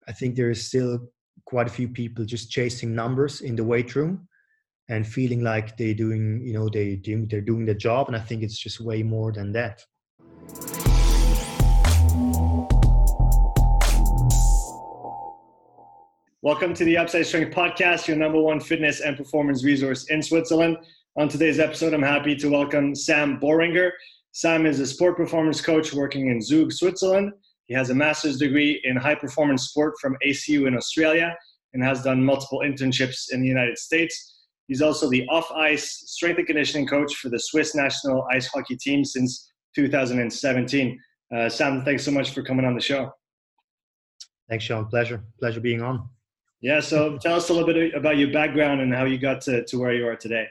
I think there is still quite a few people just chasing numbers in the weight room and feeling like they're doing, they're doing their job. And I think it's just way more than that. Welcome to the Upside Strength Podcast, your number one fitness and performance resource in Switzerland. On today's episode, I'm happy to welcome Sam Boehringer. Sam is a sport performance coach working in Zug, Switzerland. He has a master's degree in high performance sport from ACU in Australia and has done multiple internships in the United States. He's also the off-ice strength and conditioning coach for the Swiss national ice hockey team since 2017. Sam, thanks so much for coming on the show. Thanks, Sean. Pleasure being on. Yeah, so tell us a little bit about your background and how you got to where you are today.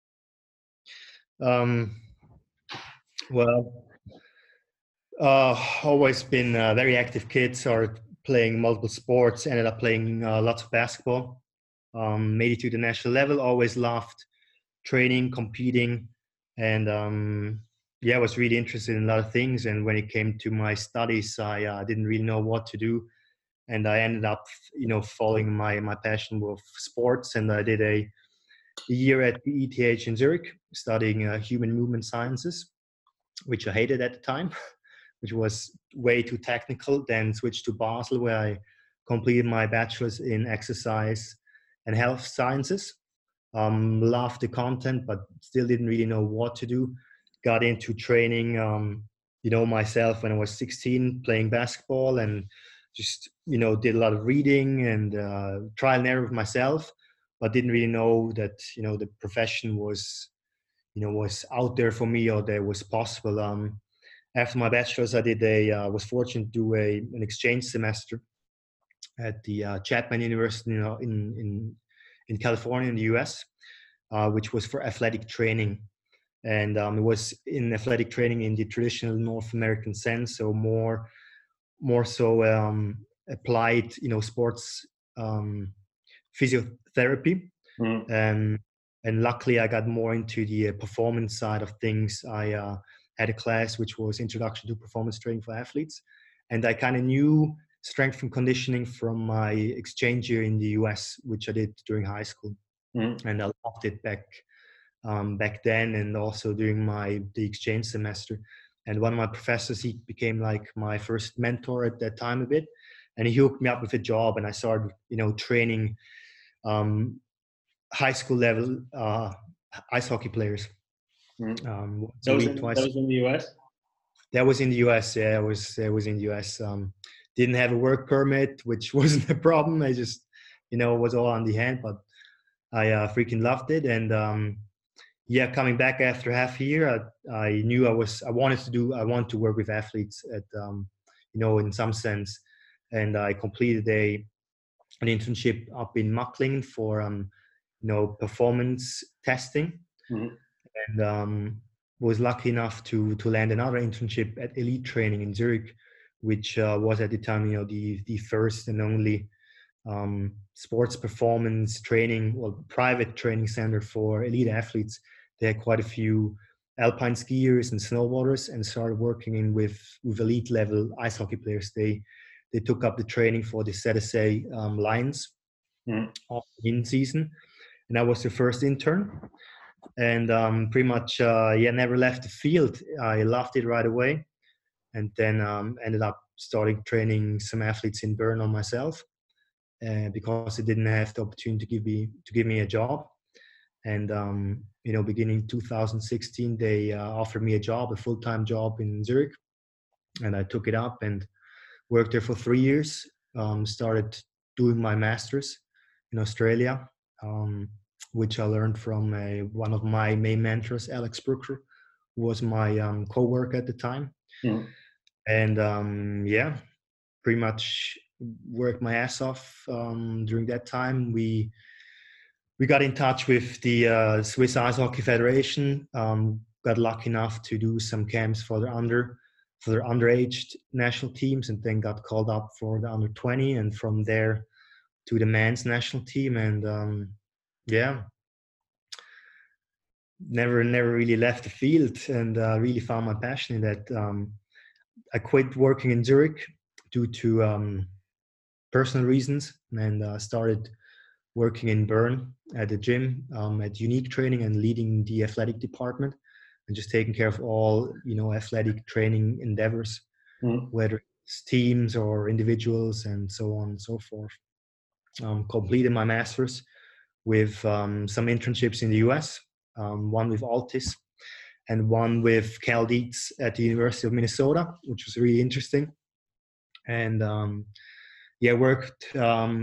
Always been a very active kid, started playing multiple sports, ended up playing lots of basketball, made it to the national level, always loved training, competing, and I was really interested in a lot of things. And when it came to my studies, I didn't really know what to do. And I ended up, following my passion with sports. And I did a year at the ETH in Zurich, studying human movement sciences, which I hated at the time, which was way too technical. Then switched to Basel, where I completed my bachelor's in exercise and health sciences. Loved the content, but still didn't really know what to do. Got into training, myself when I was 16, playing basketball, and just, did a lot of reading and trial and error with myself, but didn't really know that, the profession was out there for me, or that was possible. After my bachelor's, I was fortunate to do an exchange semester at the Chapman University, in California, in the US, which was for athletic training. And it was in athletic training in the traditional North American sense, so more so applied, sports physiotherapy. And luckily I got more into the performance side of things. I had a class which was Introduction to Performance Training for Athletes, and I kind of knew strength and conditioning from my exchange year in the US, which I did during high school. And I loved it back then, and also during the exchange semester. And one of my professors, he became like my first mentor at that time a bit, and he hooked me up with a job, and I started, training high school level ice hockey players. That was in the US? That was in the US, yeah. It was in the US. Didn't have a work permit, which wasn't a problem. I just, was all on the hand, but I freaking loved it. And coming back after half a year, I knew I wanted to work with athletes at, in some sense. And I completed an internship up in Macklingen for, performance testing. And was lucky enough to land another internship at Elite Training in Zurich, which was at the time, the first and only sports performance training, private training center for elite athletes. They had quite a few alpine skiers and snowboarders, and started working with elite level ice hockey players. They took up the training for the ZSA Lions in season, and I was the first intern. And pretty much, never left the field. I loved it right away, and then ended up starting training some athletes in Bern on myself, because they didn't have the opportunity to give me a job. And beginning 2016, they offered me a full-time job in Zurich, and I took it up and worked there for 3 years. Started doing my master's in Australia, which I learned from one of my main mentors, Alex Brooker, who was my co-worker at the time. And pretty much worked my ass off during that time. We got in touch with the Swiss Ice Hockey Federation. Got lucky enough to do some camps for their underage national teams, and then got called up for the under 20, and from there to the men's national team. And never really left the field, and really found my passion in that. I quit working in Zurich due to personal reasons, and started working in Bern at the gym at Unique Training and leading the athletic department and just taking care of all, athletic training endeavors, whether it's teams or individuals and so on and so forth. Completed my master's with some internships in the US, one with Altis and one with Cal Dietz at the University of Minnesota, which was really interesting. And worked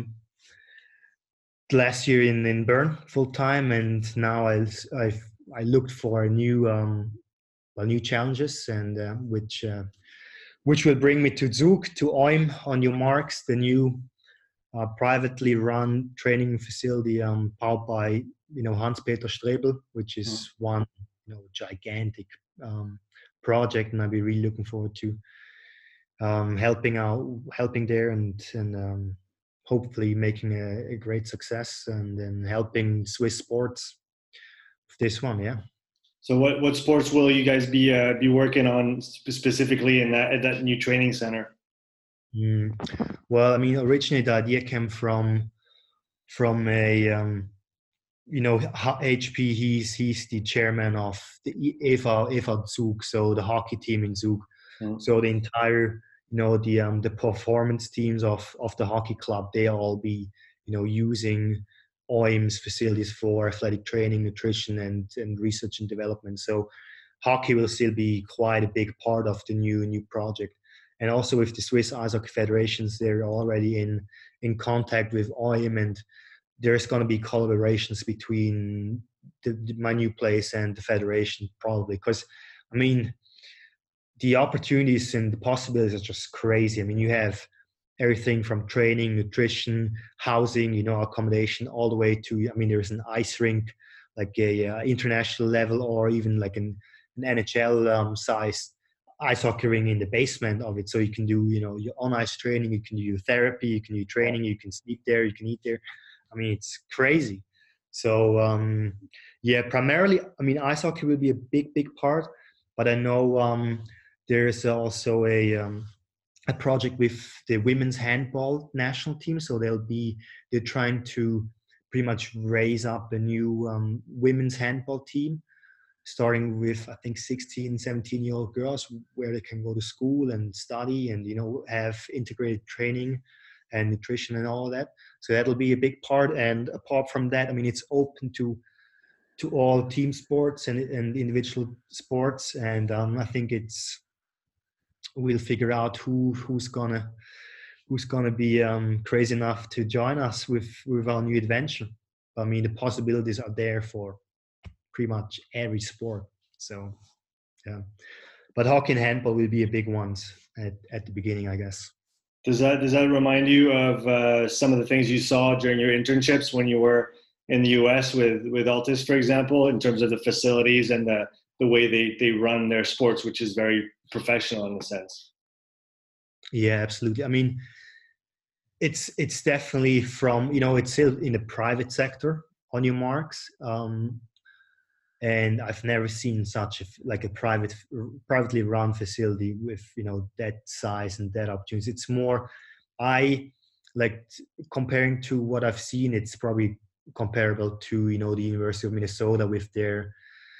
last year in Bern full time, and now I looked for new challenges, and which will bring me to Zug, to OIM on your marks, the new privately run training facility powered by Hans-Peter Strebel, which is one gigantic project, and I'll be really looking forward to helping there, and hopefully making a great success, and then helping Swiss sports with this one. Yeah. So what sports will you guys be working on specifically in that new training center? Well, I mean, originally the idea came from a HP. He's the chairman of the EV Zug, so the hockey team in Zug. So the entire the performance teams of the hockey club, they all be using OIM's facilities for athletic training, nutrition, and research and development. So hockey will still be quite a big part of the new project. And also with the Swiss Ice Hockey Federations, they're already in contact with OIM, and there's going to be collaborations between my new place and the federation, probably. Because, I mean, the opportunities and the possibilities are just crazy. I mean, you have everything from training, nutrition, housing, accommodation, all the way to, I mean, there's an ice rink, like a international level, or even like an NHL sized ice hockey ring in the basement of it. So you can do, your on ice training, you can do therapy, you can do training, you can sleep there, you can eat there. I mean, it's crazy. So, primarily, I mean, ice hockey will be a big part, but I know there's also a project with the women's handball national team. So they're trying to pretty much raise up a new women's handball team, starting with, I think, 16, 17-year-old girls, where they can go to school and study and, have integrated training and nutrition and all of that. So that'll be a big part. And apart from that, I mean, it's open to all team sports and individual sports. And I think we'll figure out who's gonna be crazy enough to join us with our new adventure. I mean, the possibilities are there for pretty much every sport. So, yeah. But hockey and handball will be a big ones at the beginning, I guess. Does that remind you of some of the things you saw during your internships when you were in the US with Altis, for example, in terms of the facilities and the way they run their sports, which is very professional in a sense? Yeah, absolutely. I mean, it's definitely from, it's still in the private sector on your marks. And I've never seen such a privately run facility with, that size and that opportunity. It's more, I like comparing to what I've seen, it's probably comparable to, the University of Minnesota with their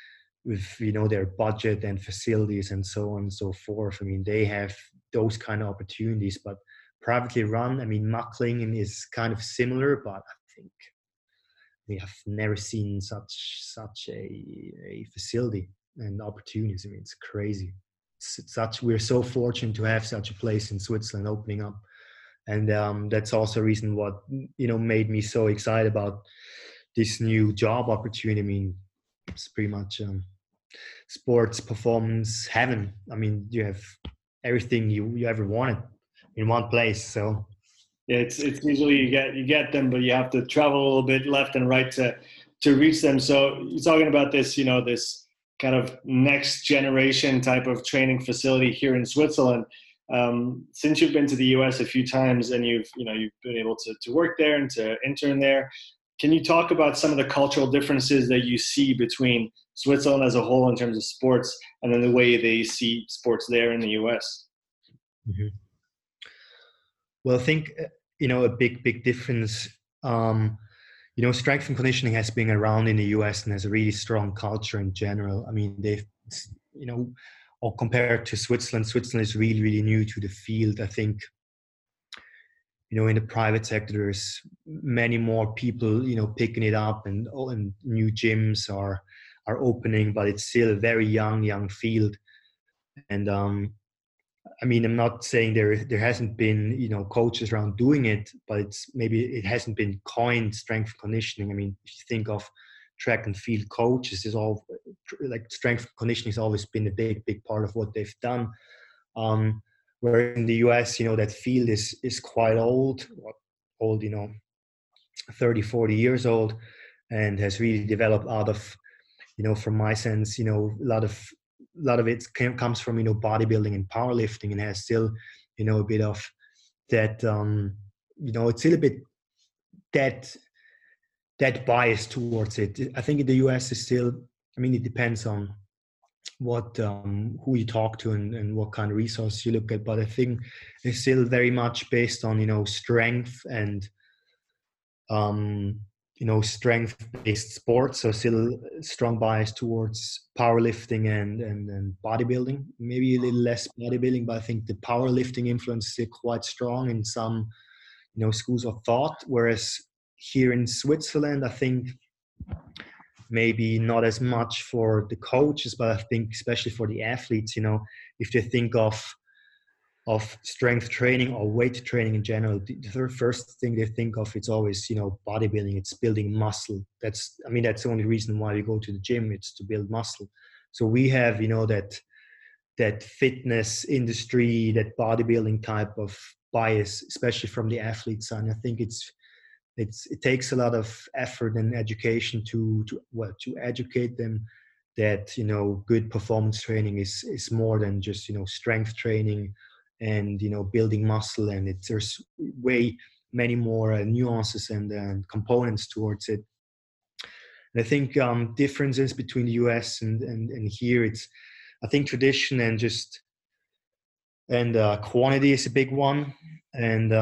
budget and facilities and so on and so forth. I mean, they have those kind of opportunities, but privately run, I mean, Macklingen is kind of similar, but I think we have never seen such a facility and opportunities. I mean, it's crazy. We're so fortunate to have such a place in Switzerland opening up, and that's also a reason what made me so excited about this new job opportunity. I mean, it's pretty much sports performance heaven. I mean, you have everything you ever wanted in one place. So. Yeah, it's usually you get them, but you have to travel a little bit left and right to reach them. So you're talking about this, this kind of next generation type of training facility here in Switzerland. Since you've been to the US a few times and you've been able to work there and to intern there, can you talk about some of the cultural differences that you see between Switzerland as a whole in terms of sports and then the way they see sports there in the US? Mm-hmm. Well, I think a big difference. Strength and conditioning has been around in the US and has a really strong culture in general. I mean, they've, or compared to Switzerland, Switzerland is really, really new to the field. I think, in the private sector, there's many more people, picking it up, and new gyms are opening, but it's still a very young field. And I mean, I'm not saying there hasn't been, coaches around doing it, but maybe it hasn't been coined strength conditioning. I mean, if you think of track and field coaches, is all like strength conditioning has always been a big part of what they've done. Where in the US, that field is quite old, 30, 40 years old, and has really developed out of, from my sense, a lot of it comes from, bodybuilding and powerlifting, and has still, a bit of that, it's still a bit that bias towards it. I think in the US is still, I mean, it depends on what who you talk to and what kind of resource you look at, but I think it's still very much based on strength and strength-based sports. So still strong bias towards powerlifting and bodybuilding. Maybe a little less bodybuilding, but I think the powerlifting influence is still quite strong in some schools of thought. Whereas here in Switzerland, I think maybe not as much for the coaches, but I think especially for the athletes, if they think of strength training or weight training in general, the first thing they think of, it's always, bodybuilding, it's building muscle. That's the only reason why we go to the gym, it's to build muscle. So we have, that fitness industry, that bodybuilding type of bias, especially from the athlete side. And I think it takes a lot of effort and education to educate them that good performance training is more than just strength training and building muscle, and there's way many more nuances and components towards it. And I think differences between the US and here, it's, I think, tradition and quantity is a big one. And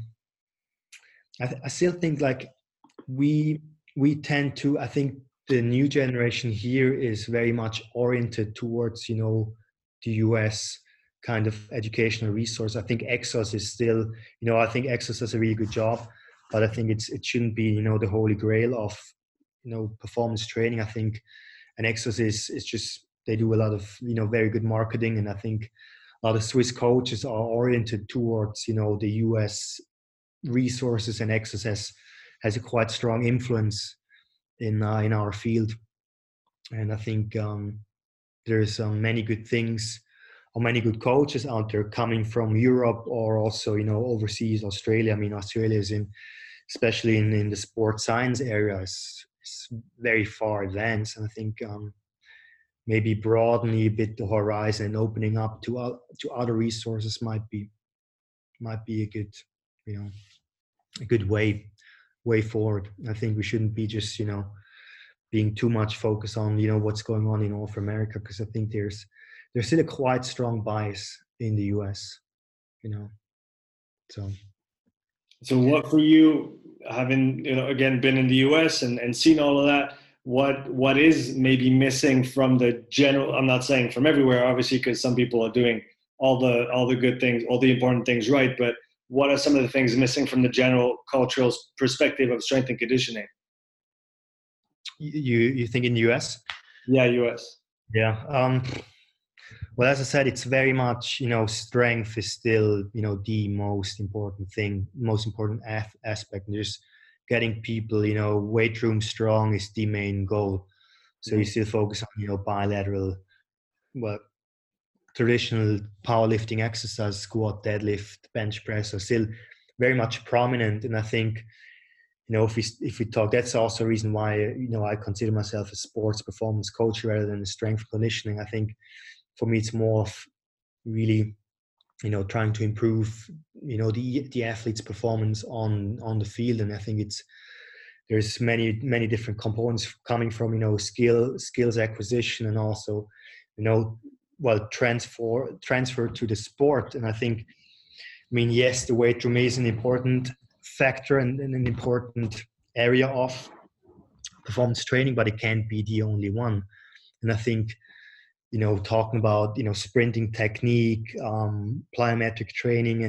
I still think like we tend to, I think the new generation here is very much oriented towards, the US kind of educational resource. I think Exos is still, I think Exos does a really good job, but I think it shouldn't be, the holy grail of, performance training. I think an Exos is just, they do a lot of, very good marketing. And I think a lot of Swiss coaches are oriented towards, the US resources, and Exos has a quite strong influence in our field. And I think there's many good things, or many good coaches out there coming from Europe, or also overseas, Australia. I mean, Australia is especially in the sports science area, is very far advanced. And I think maybe broadening a bit the horizon and opening up to other resources might be a good a good way forward. I think we shouldn't be just being too much focused on what's going on in North America, because I think there's still a quite strong bias in the US, So what for you, having again been in the US and seen all of that, what is maybe missing from the general, I'm not saying from everywhere obviously, because some people are doing all the good things, all the important things right, but what are some of the things missing from the general cultural perspective of strength and conditioning? You think in the US? Yeah, US. Yeah. Well, as I said, it's very much, strength is still, the most important thing, most important aspect. And just getting people, weight room strong is the main goal. So you still focus on, bilateral, traditional powerlifting exercise, squat, deadlift, bench press are still very much prominent. And I think, if we talk, that's also a reason why, I consider myself a sports performance coach rather than a strength conditioning. I think for me, it's more of really, trying to improve, the athlete's performance on the field. And I think there's many different components coming from, skills acquisition, and also, transfer to the sport. And I think, yes, the weight room is an important factor and an important area of performance training, but it can't be the only one. And I think, talking about, sprinting technique, plyometric training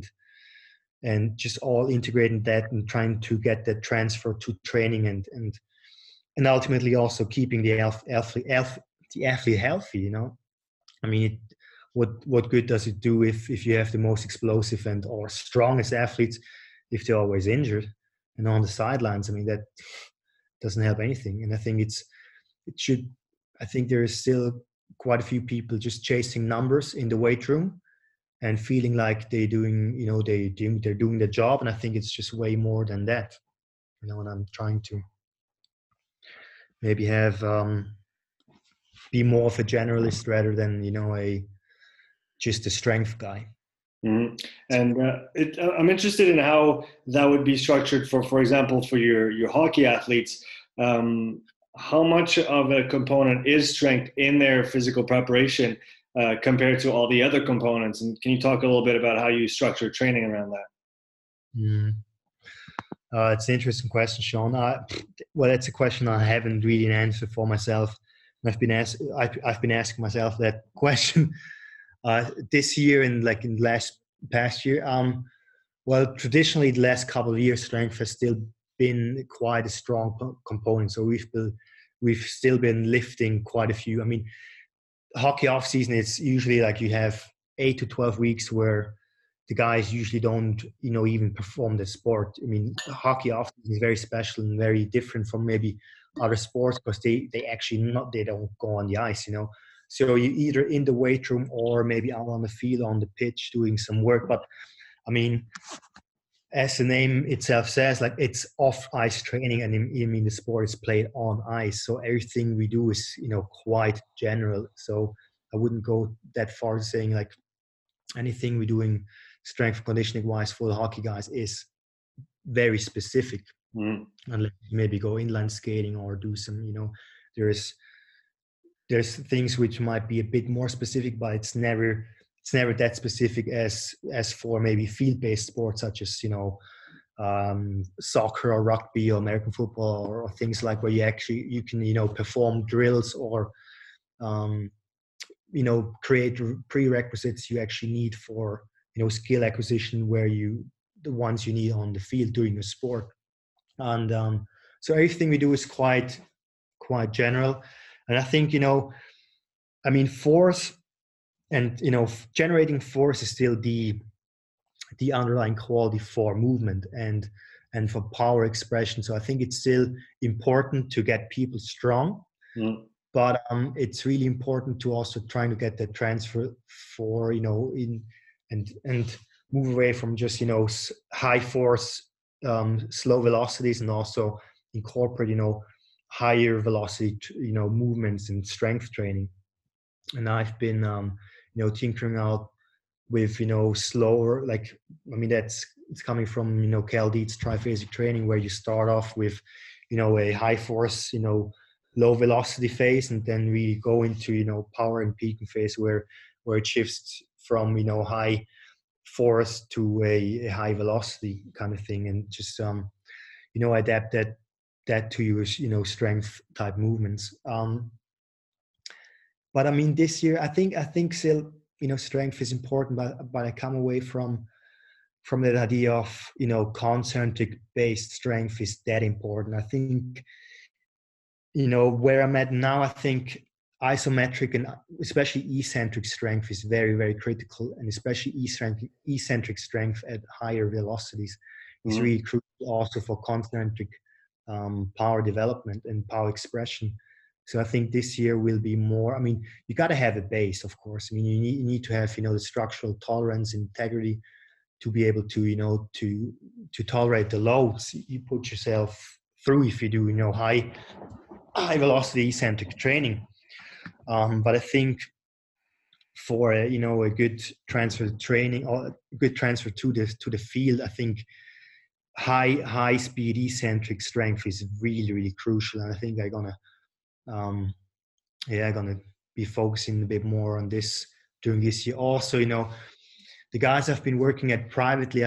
and just all integrating that and trying to get that transfer to training and ultimately also keeping the athlete healthy. I mean, what good does it do if you have the most explosive and or strongest athletes if they're always injured and on the sidelines? I mean, that doesn't help anything. And I think I think there is still quite a few people just chasing numbers in the weight room and feeling like they're doing their job. And I think it's just way more than that, and I'm trying to maybe have be more of a generalist rather than just a strength guy. Mm-hmm. And I'm interested in how that would be structured for example, for your hockey athletes. How much of a component is strength in their physical preparation compared to all the other components? And can you talk a little bit about how you structure training around that? It's an interesting question, Sean. Well, it's a question I haven't really an answer for myself. I've been asking myself that question this year and like in the past year. Well, traditionally, the last couple of years, strength has still been quite a strong component. So we've still been lifting quite a few. I mean, hockey off season, it's usually like you have 8 to 12 weeks where the guys usually don't, even perform the sport. I mean, hockey off season is very special and very different from maybe other sports because they don't go on the ice, So you either in the weight room or maybe out on the field, on the pitch, doing some work. But I mean, as the name itself says, like it's off ice training, and I mean the sport is played on ice. So everything we do is, quite general. So I wouldn't go that far saying like anything we're doing strength conditioning wise for the hockey guys is very specific. Unless maybe go inline skating or do some, there's things which might be a bit more specific, but it's never that specific as for maybe field-based sports such as soccer or rugby or American football or things like where you can perform drills or create prerequisites you actually need for skill acquisition where the ones you need on the field doing the sport. And so everything we do is quite general. And I think I mean force and generating force is still the underlying quality for movement and for power expression. So I think it's still important to get people strong, but it's really important to also trying to get that transfer for in and move away from just high force, slow velocities, and also incorporate higher velocity movements and strength training. And I've been tinkering out with slower, like I mean it's coming from Cal Dietz triphasic training, where you start off with a high force low velocity phase, and then we go into power and peaking phase where it shifts from high force to a high velocity kind of thing, and just adapt that to your strength type movements. But I mean, this year I think still strength is important, but I come away from that idea of concentric based strength is that important. I think where I'm at now, I think isometric and especially eccentric strength is very, very critical, and especially eccentric strength at higher velocities is really crucial also for concentric power development and power expression. So I think this year will be more. I mean, you got to have a base, of course. I mean, you need to have the structural tolerance, integrity to be able to to tolerate the loads you put yourself through if you do high velocity eccentric training. But I think for a good transfer training or a good transfer to the field, I think high speed eccentric strength is really, really crucial. And I think I'm gonna be focusing a bit more on this during this year. Also, the guys I've been working at privately,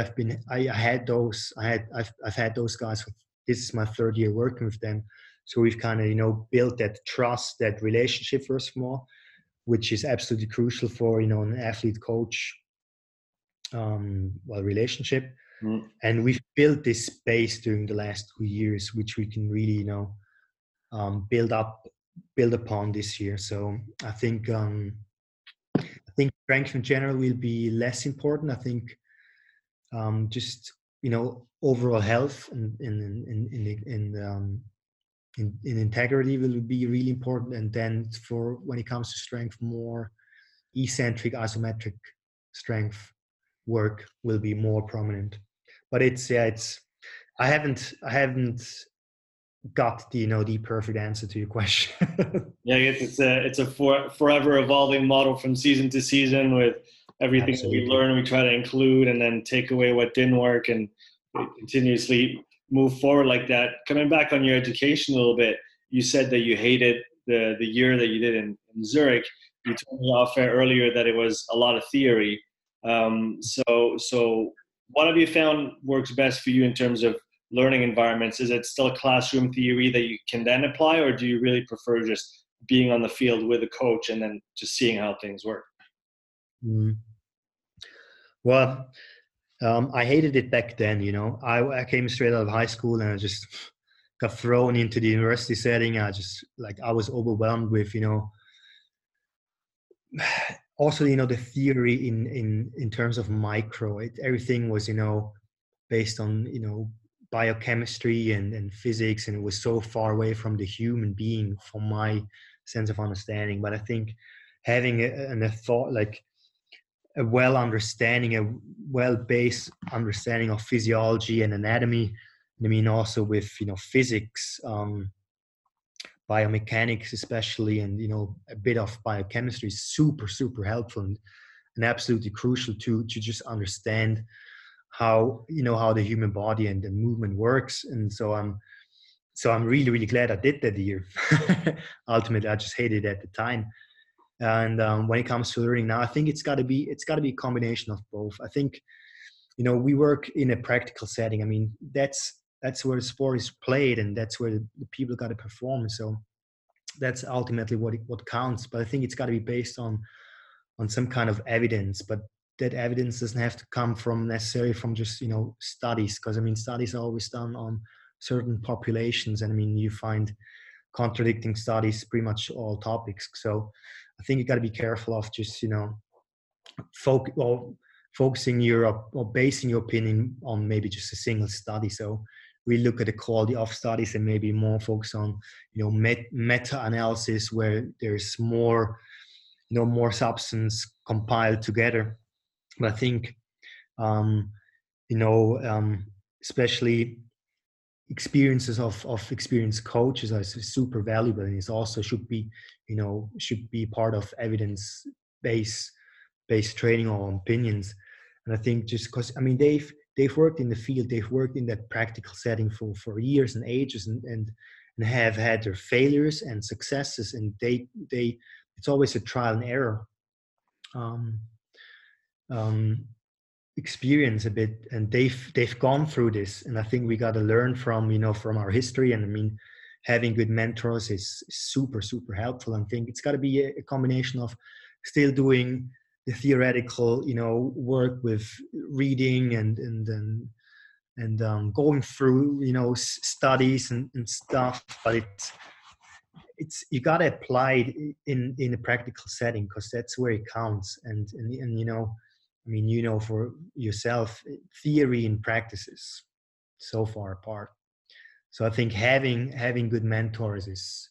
I've had those guys. This is my third year working with them, so we've kind of, you know, built that trust, that relationship first of all, which is absolutely crucial for, you know, an athlete coach relationship. And we've built this space during the last 2 years, which we can really, you know, build upon this year. So I think strength in general will be less important. I think just, you know, overall health and in integrity will be really important. And then for when it comes to strength, more eccentric, isometric strength work will be more prominent. But I haven't got the, you know, the perfect answer to your question. Yeah, it's a forever evolving model from season to season, with everything Absolutely. that we learn, we try to include and then take away what didn't work, and continuously move forward like that. Coming back on your education a little bit, you said that you hated the year that you did in Zurich. You told me off air earlier that it was a lot of theory. So what have you found works best for you in terms of learning environments? Is it still classroom theory that you can then apply, or do you really prefer just being on the field with a coach and then just seeing how things work? Well, I hated it back then, you know. I came straight out of high school and I just got thrown into the university setting. I was overwhelmed with, you know, also, you know, the theory in terms of everything was, you know, based on, you know, biochemistry and physics, and it was so far away from the human being from my sense of understanding. But I think having a well-based understanding of physiology and anatomy, I mean, also with, you know, physics, biomechanics especially, and, you know, a bit of biochemistry is super, super helpful and absolutely crucial to just understand how, you know, how the human body and the movement works. And so I'm really, really glad I did that year. Ultimately, I just hated it at the time. And when it comes to learning now, I think it's got to be a combination of both. I think, you know, we work in a practical setting. I mean, that's where the sport is played, and that's where the people got to perform. So that's ultimately what counts. But I think it's got to be based on some kind of evidence. But that evidence doesn't have to come from necessarily from just, you know, studies, because I mean, studies are always done on certain populations, and I mean, you find contradicting studies pretty much all topics. So I think you got to be careful of just, you know, focusing or basing your opinion on maybe just a single study. So we look at the quality of studies and maybe more focus on, you know, meta-analysis where there's more, you know, more substance compiled together. But I think, you know, especially experiences of experienced coaches are super valuable, and it also should be part of evidence-based training or opinions. And I think just because, I mean, they've worked in the field, they've worked in that practical setting for years and ages, and have had their failures and successes, and they it's always a trial and error experience a bit, and they've gone through this. And I think we got to learn from, you know, from our history. And I mean, having good mentors is super, super helpful. I think it's got to be a combination of still doing the theoretical, you know, work with reading and going through, you know, studies and stuff, but it's you got to apply it in a practical setting, because that's where it counts. And you know, I mean, you know, for yourself, theory and practices so far apart. So I think having good mentors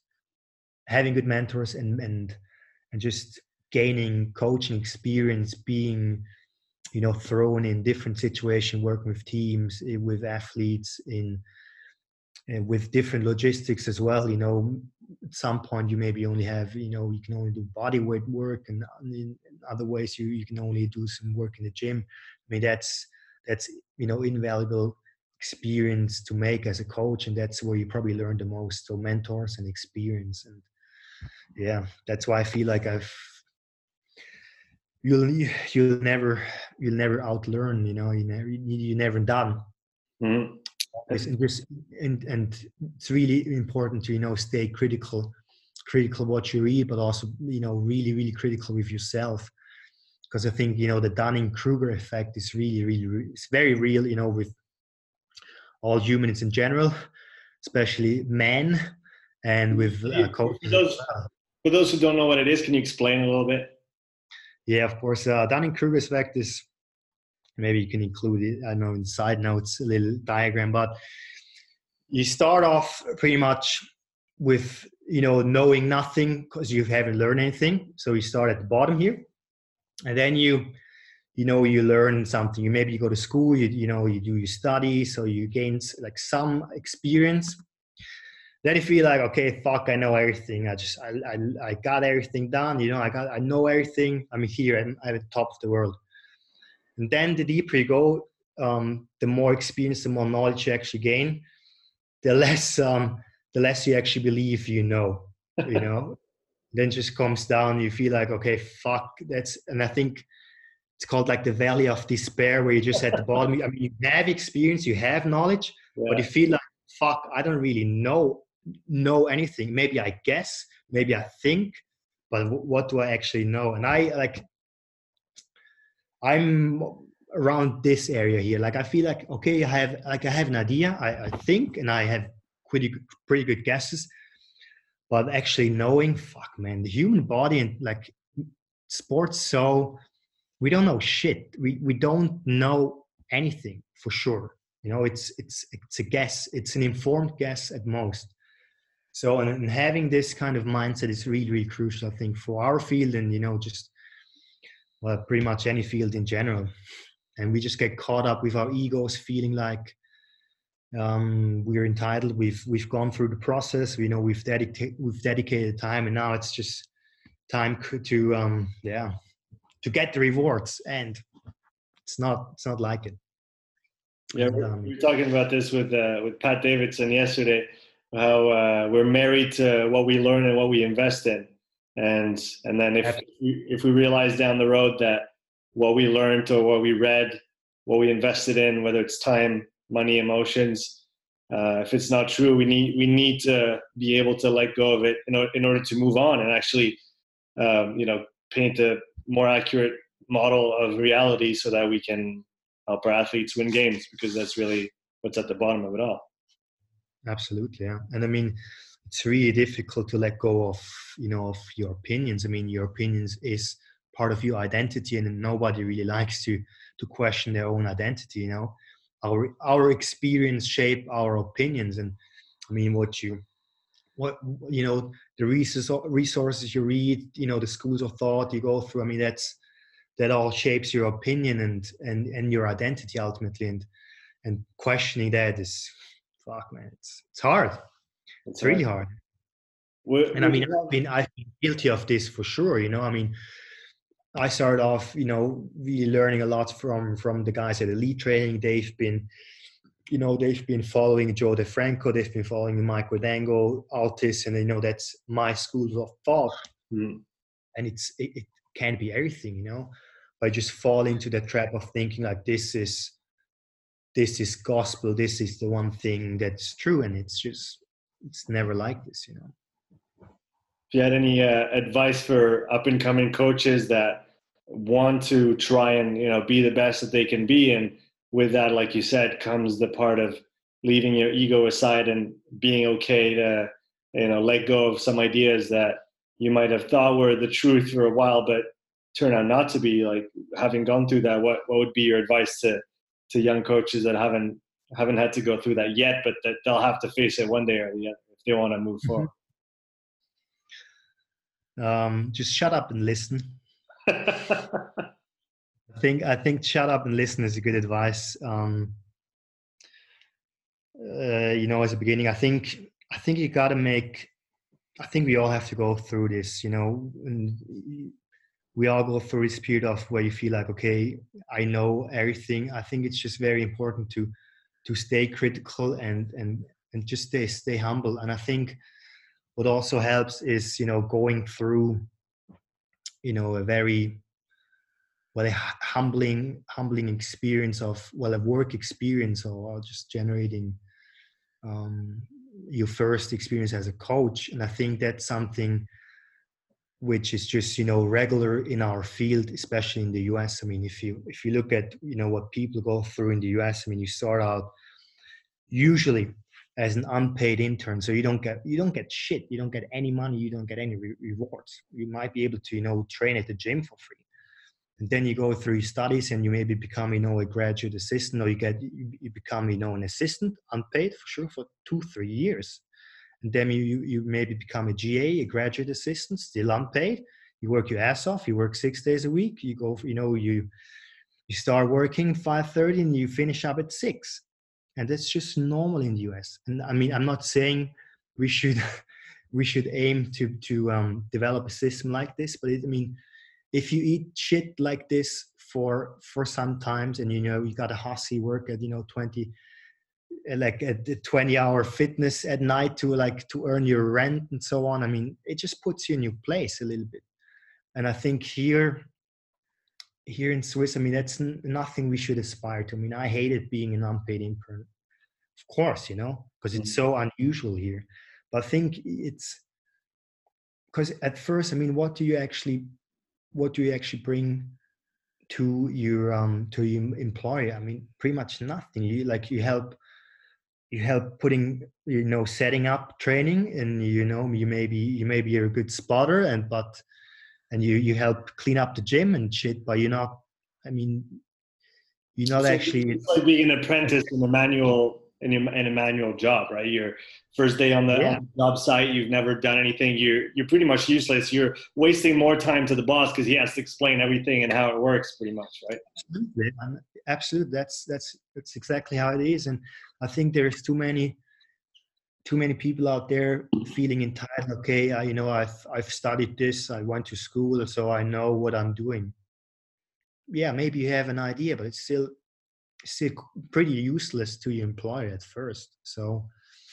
and just gaining coaching experience, being, you know, thrown in different situations, working with teams, with athletes, with different logistics as well. You know, at some point you maybe only have, you know, you can only do body weight work, and in other ways you can only do some work in the gym. I mean, that's you know, invaluable experience to make as a coach, and that's where you probably learn the most. So mentors and experience, and yeah, that's why I feel like you'll never outlearn. You never done. Mm-hmm. And it's really important to stay critical what you read, but also really critical with yourself, because I think the Dunning-Kruger effect is it's very real, with all humans in general, especially men, and with coaches as well. For those who don't know what it is, can you explain a little bit? Yeah, of course. Dunning-Kruger effect is, maybe you can include it, I know in side notes, a little diagram, but you start off pretty much with knowing nothing because you haven't learned anything. So you start at the bottom here, and then you learn something. Maybe you go to school, you do your study, so you gain like some experience. Then you feel like, okay, fuck, I know everything. I got everything done. I know everything. I'm here. I'm at the top of the world. And then the deeper you go, the more experience, the more knowledge you actually gain, the less you actually believe then just comes down, you feel like, okay, fuck, and I think it's called like the valley of despair, where you're just at the bottom. I mean, you have experience, you have knowledge, but you feel like, fuck, I don't really know anything. Maybe I guess, maybe I think, but what do I actually know? And I'm around this area here. Like, I feel like, okay, I have an idea, I think, and I have pretty good guesses, but actually knowing, fuck, man, the human body and like sports, so we don't know shit. We don't know anything for sure. It's a guess. It's an informed guess at most. So, and having this kind of mindset is really crucial, I think, for our field, and just pretty much any field in general. And we just get caught up with our egos, feeling like we're entitled. We've gone through the process. We've dedicated time, and now it's just time to get the rewards, and it's not like it. Yeah, we were talking about this with Pat Davidson yesterday, how we're married to what we learn and what we invest in, and then if we realize down the road that what we learned or what we read, what we invested in, whether it's time, money, emotions, if it's not true, we need to be able to let go of it in order to move on and actually paint a more accurate model of reality, so that we can help our athletes win games, because that's really what's at the bottom of it all. Absolutely, yeah. And I mean, it's really difficult to let go of your opinions. I mean, your opinions is part of your identity, and nobody really likes to question their own identity. Our experience shape our opinions, and I mean, the resources you read, the schools of thought you go through. I mean, that all shapes your opinion and your identity ultimately, and questioning that is, fuck, man, it's hard. It's really hard. And I mean, I've been guilty of this for sure. I mean, I started off, really learning a lot from the guys at Elite Training. They've been following Joe DeFranco. They've been following Mike Rodango, Altis, and that's my schools of thought. Mm. And it can be everything, I just fall into the trap of thinking like this is gospel. This is the one thing that's true, and it's never like this. If you had any advice for up and coming coaches that want to try and be the best that they can be, and with that, like you said, comes the part of leaving your ego aside and being okay to let go of some ideas that you might have thought were the truth for a while, but turn out not to be. Like, having gone through that, what would be your advice to young coaches that haven't had to go through that yet, but that they'll have to face it one day or the other if they want to move forward? Just shut up and listen. I think shut up and listen is a good advice. As a beginning, I think you got to I think we all have to go through this, and we all go through this period of where you feel like, okay, I know everything. I think it's just very important to stay critical and just stay humble. And I think what also helps is, going through, a very a humbling experience of, well, a work experience, or just generating your first experience as a coach. And I think that's something which is just, you know, regular in our field, especially in the US. I mean, if you look at, you know, what people go through in the US, I mean, you start out usually as an unpaid intern, so you don't get shit, you don't get any money, you don't get any rewards. You might be able to, you know, train at the gym for free, and then you go through your studies and you maybe become, you know, a graduate assistant, or you become, you know, an assistant, unpaid for sure, for 2-3 years. And then you maybe become a GA, a graduate assistant, still unpaid. You work your ass off. You work 6 days a week. You go, you know, you start working 5:30 and you finish up at 6. And that's just normal in the US. And I mean, I'm not saying we should we should aim to develop a system like this, but I mean, if you eat shit like this for some times, and you know you got a hussy work at, you know, 20-hour fitness at night to earn your rent and so on. I mean, it just puts you in your place a little bit. And I think here in Swiss, I mean, that's nothing we should aspire to. I mean, I hated being an unpaid intern, of course, you know, because it's so unusual here. But I think it's because at first, I mean, what do you actually bring to your employer? I mean, pretty much nothing. You help putting, you know, setting up training, and you know, you maybe you're a good spotter, and you help clean up the gym and shit, but you're not, I mean, you're not So actually. it's like being an apprentice in a manual job, right? Your first day on the job site, you've never done anything. You're pretty much useless. You're wasting more time to the boss because he has to explain everything and how it works, pretty much, right? Absolutely. That's exactly how it is. And I think there's too many people out there feeling entitled. Okay, you know, I've studied this, I went to school, so I know what I'm doing. Yeah, maybe you have an idea, but it's still pretty useless to your employer at first. So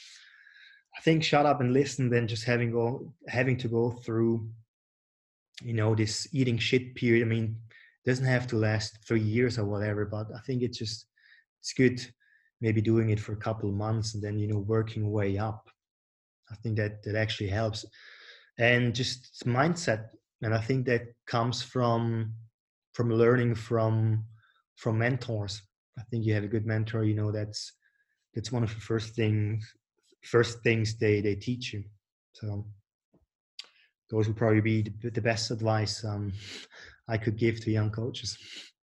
I think shut up and listen, then just having to go through, you know, this eating shit period. I mean, it doesn't have to last 3 years or whatever, but I think it's good maybe doing it for a couple of months and then, you know, working way up. I think that actually helps. And just mindset. And I think that comes from learning from mentors. I think you have a good mentor, you know, that's one of the first things they teach you. So those would probably be the best advice I could give to young coaches.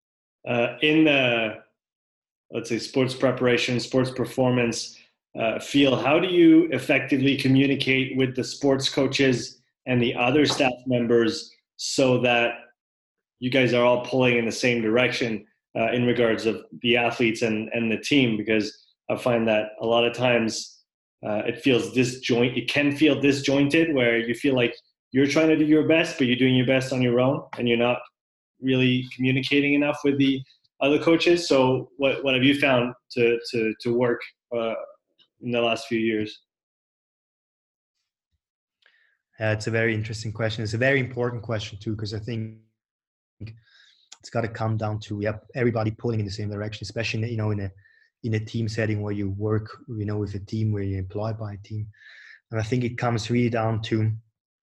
In the, let's say, sports preparation, sports performance field, how do you effectively communicate with the sports coaches and the other staff members so that you guys are all pulling in the same direction in regards of the athletes and the team? Because I find that a lot of times it can feel disjointed, where you feel like you're trying to do your best, but you're doing your best on your own, and you're not really communicating enough with the other coaches. So what have you found to work in the last few years? It's a very interesting question. It's a very important question too, because I think it's got to come down to everybody pulling in the same direction, especially, you know, in a team setting where you work, you know, with a team, where you're employed by a team. And I think it comes really down to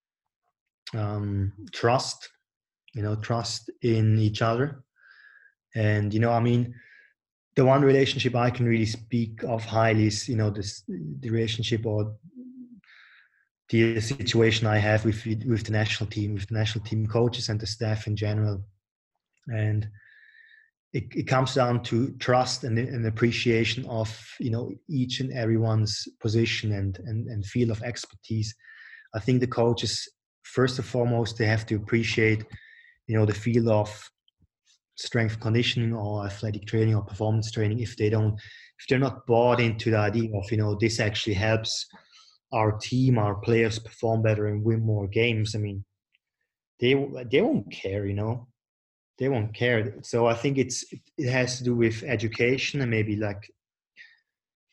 trust, you know, trust in each other. And, you know, I mean, the one relationship I can really speak of highly is, you know, the relationship or the situation I have with the national team coaches and the staff in general. And it comes down to trust and appreciation of, you know, each and everyone's position and field of expertise. I think the coaches, first and foremost, they have to appreciate, you know, the field of strength conditioning or athletic training or performance training. If they're not bought into the idea of, you know, this actually helps our team, our players perform better and win more games, I mean, they won't care, you know. They won't care. So I think it has to do with education and maybe like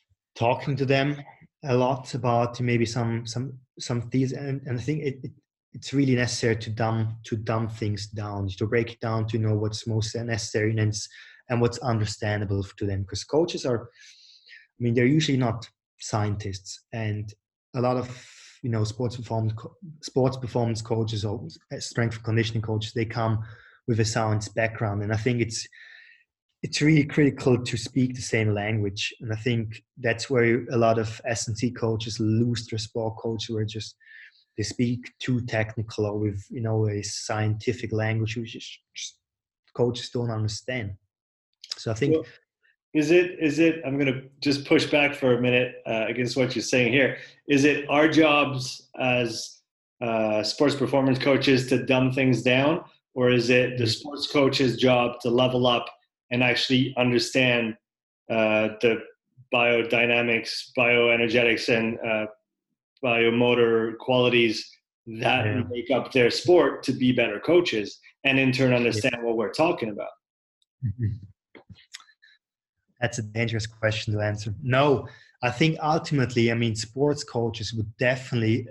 talking to them a lot about maybe some things. And I think it's really necessary to dumb things down, to break it down, to know what's most necessary and what's understandable to them. Because coaches are, I mean, they're usually not scientists, and a lot of sports performance coaches or strength and conditioning coaches, they come with a science background, and I think it's really critical to speak the same language. And I think that's where a lot of S&C coaches lose their sport coach, where they speak too technical or with a scientific language which just coaches don't understand. So I think. Well, is it? I'm going to just push back for a minute against what you're saying here. Is it our jobs as sports performance coaches to dumb things down, or is it the sports coach's job to level up and actually understand the biodynamics, bioenergetics, and biomotor qualities that make up their sport to be better coaches, and in turn understand what we're talking about? That's a dangerous question to answer. No, I think ultimately, I mean, sports coaches would definitely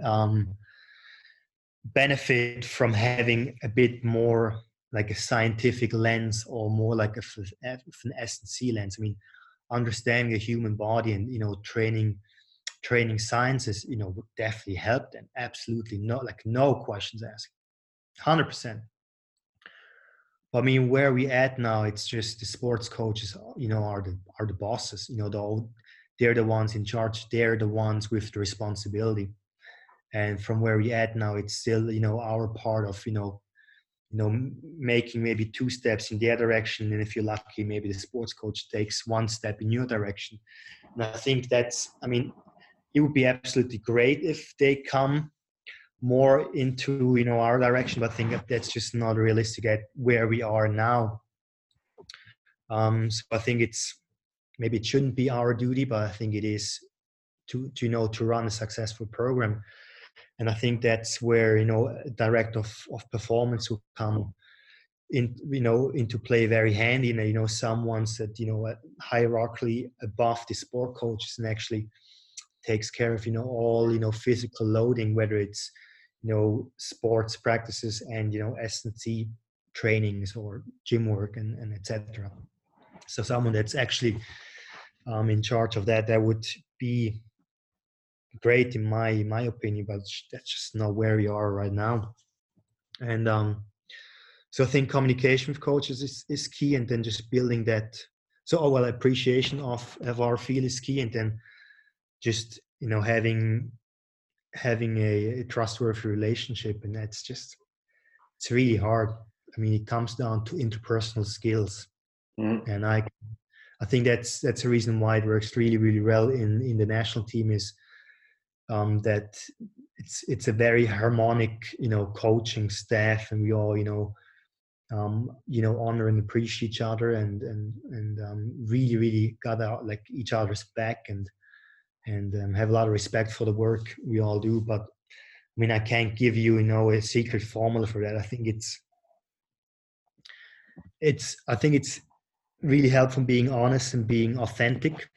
benefit from having a bit more like a scientific lens, or more like an S&C lens. I mean, understanding the human body and training sciences would definitely help them. Absolutely, no questions asked, 100%. I mean, where we at now, it's just the sports coaches, are the bosses. They're the ones in charge. They're the ones with the responsibility. And from where we at now, it's still our part of making maybe 2 steps in their direction, and if you're lucky, maybe the sports coach takes 1 step in your direction. And I think it would be absolutely great if they come more into our direction, but I think that's just not realistic at where we are now. So I think maybe it shouldn't be our duty, but I think it is to run a successful program. And I think that's where a director of performance will come into play very handy. And someone that hierarchically above the sport coaches and actually takes care of all physical loading, whether it's sports practices and S&C trainings or gym work and etc. So someone that's actually in charge of that would be great in my opinion, but that's just not where we are right now. And so I think communication with coaches is key, and then just building that. So appreciation of our field is key, and then just having a trustworthy relationship. And it's really hard. I mean, it comes down to interpersonal skills. And I think that's a reason why it works really, really well in the national team, is that it's a very harmonic coaching staff, and we all honor and appreciate each other, and really, really got out like each other's back, and have a lot of respect for the work we all do. But I mean, I can't give you a secret formula for that. I think it's really helpful being honest and being authentic,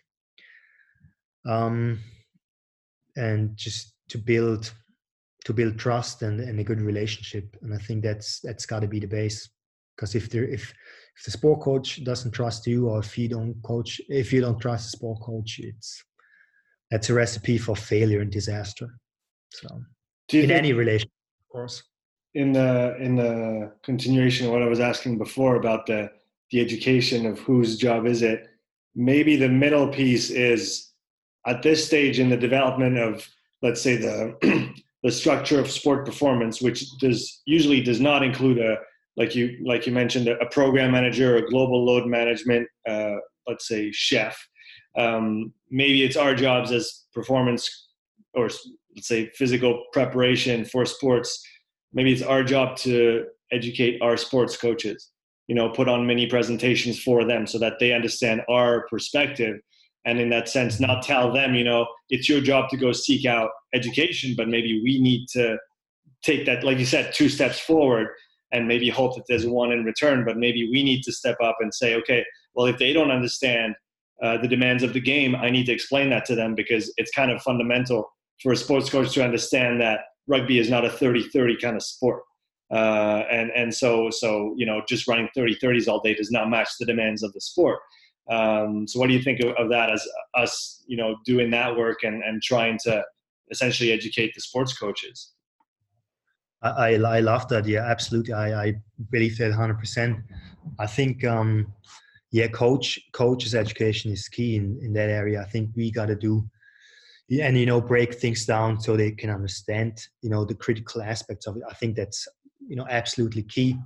and just to build trust and a good relationship. And I think that's got to be the base, because if the sport coach doesn't trust you, or if you don't trust the sport coach, that's a recipe for failure and disaster. So in any relationship, of course. In the continuation of what I was asking before about the education of whose job is it, maybe the middle piece is, at this stage in the development of, let's say, the structure of sport performance, which usually does not include like you mentioned, a program manager, a global load management, let's say chef. Maybe it's our jobs as performance, or let's say physical preparation for sports. Maybe it's our job to educate our sports coaches, put on mini presentations for them so that they understand our perspective. And in that sense, not tell them, it's your job to go seek out education, but maybe we need to take that, like you said, 2 steps forward, and maybe hope that there's 1 in return. But maybe we need to step up and say, okay, well, if they don't understand the demands of the game, I need to explain that to them, because it's kind of fundamental for a sports coach to understand that rugby is not a 30-30 kind of sport. And so just running 30-30s all day does not match the demands of the sport. So what do you think of that as us, doing that work and trying to essentially educate the sports coaches? I love that. Yeah, absolutely. I believe that 100%. I think, coaches education is key in that area. I think we got to do, and, break things down so they can understand, the critical aspects of it. I think that's, absolutely key.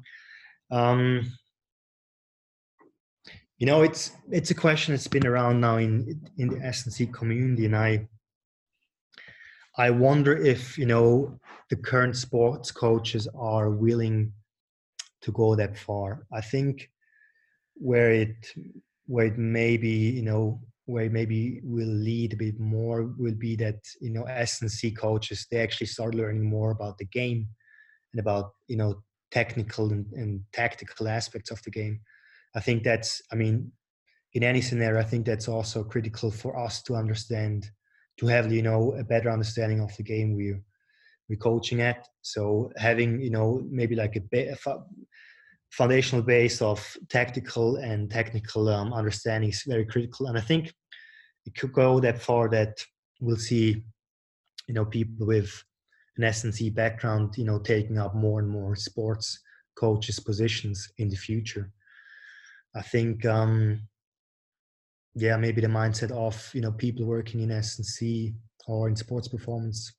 It's a question that's been around now in the S&C community, and I wonder if, the current sports coaches are willing to go that far. I think where it maybe will lead a bit more will be that, S&C coaches, they actually start learning more about the game and about, technical and tactical aspects of the game. I think that's, in any scenario, I think that's also critical for us to understand, to have, a better understanding of the game we're coaching at. So having, maybe like a foundational base of tactical and technical understanding is very critical. And I think it could go that far that we'll see, people with an S&C background, taking up more and more sports coaches positions in the future. I think, maybe the mindset of, people working in S&C or in sports performance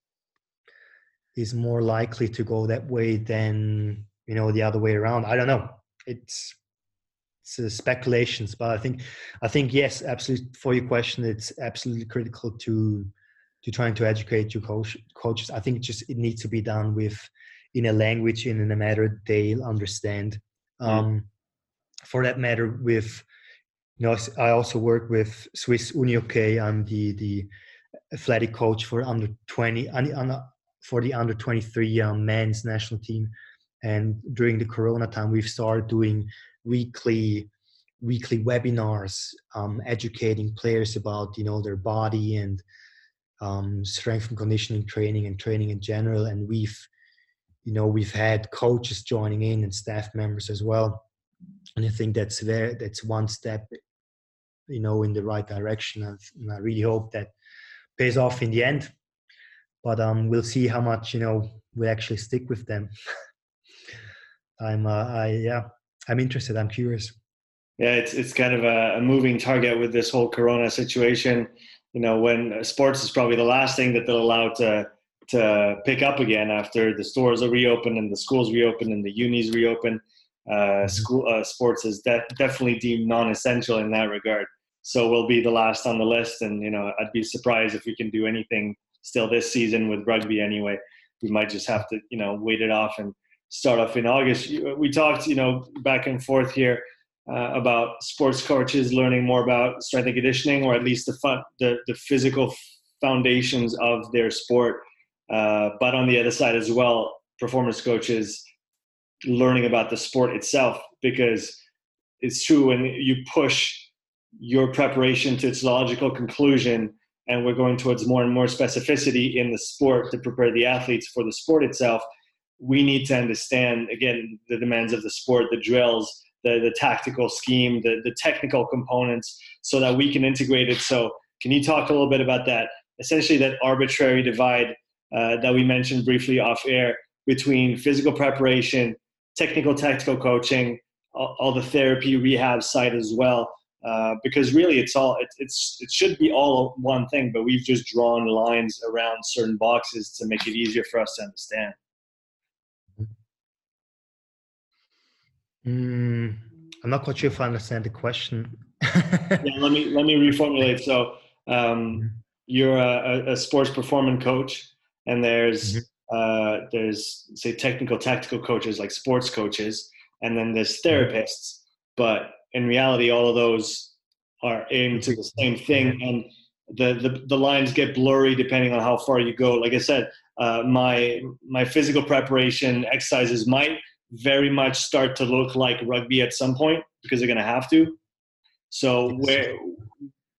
is more likely to go that way than, the other way around. I don't know. It's speculations, but I think yes, absolutely. For your question, it's absolutely critical to trying to educate your coaches. I think it needs to be done in a language and in a matter they'll understand. For that matter, I also work with Swiss Uni UK. I'm the athletic coach for under 20 for the under 23 men's national team. And during the Corona time, we've started doing weekly webinars, educating players about, their body and strength and conditioning training and training in general. And we've had coaches joining in and staff members as well. And I think that's one step, in the right direction. And I really hope that pays off in the end. But we'll see how much, we actually stick with them. I'm interested. I'm curious. Yeah, it's kind of a moving target with this whole Corona situation. When sports is probably the last thing that they'll allow to pick up again after the stores are reopened and the schools reopen and the unis reopen. Sports is definitely deemed non-essential in that regard. So we'll be the last on the list. And, I'd be surprised if we can do anything still this season with rugby anyway. We might just have to, wait it off and start off in August. We talked, back and forth here about sports coaches learning more about strength and conditioning, or at least the physical foundations of their sport. But on the other side as well, performance coaches learning about the sport itself, because it's true when you push your preparation to its logical conclusion, and we're going towards more and more specificity in the sport to prepare the athletes for the sport itself. We need to understand, again, the demands of the sport, the drills, the tactical scheme, the technical components, so that we can integrate it. So can you talk a little bit about that? Essentially that arbitrary divide that we mentioned briefly off air between physical preparation, technical, tactical coaching, all the therapy rehab side as well. Because really it should be all one thing, but we've just drawn lines around certain boxes to make it easier for us to understand. I'm not quite sure if I understand the question. Yeah, let me reformulate. So you're a sports performance coach, and there's say technical, tactical coaches like sports coaches, and then there's therapists. But in reality, all of those are aimed to the same thing, and the lines get blurry depending on how far you go. Like I said, my physical preparation exercises might very much start to look like rugby at some point, because they're going to have to. So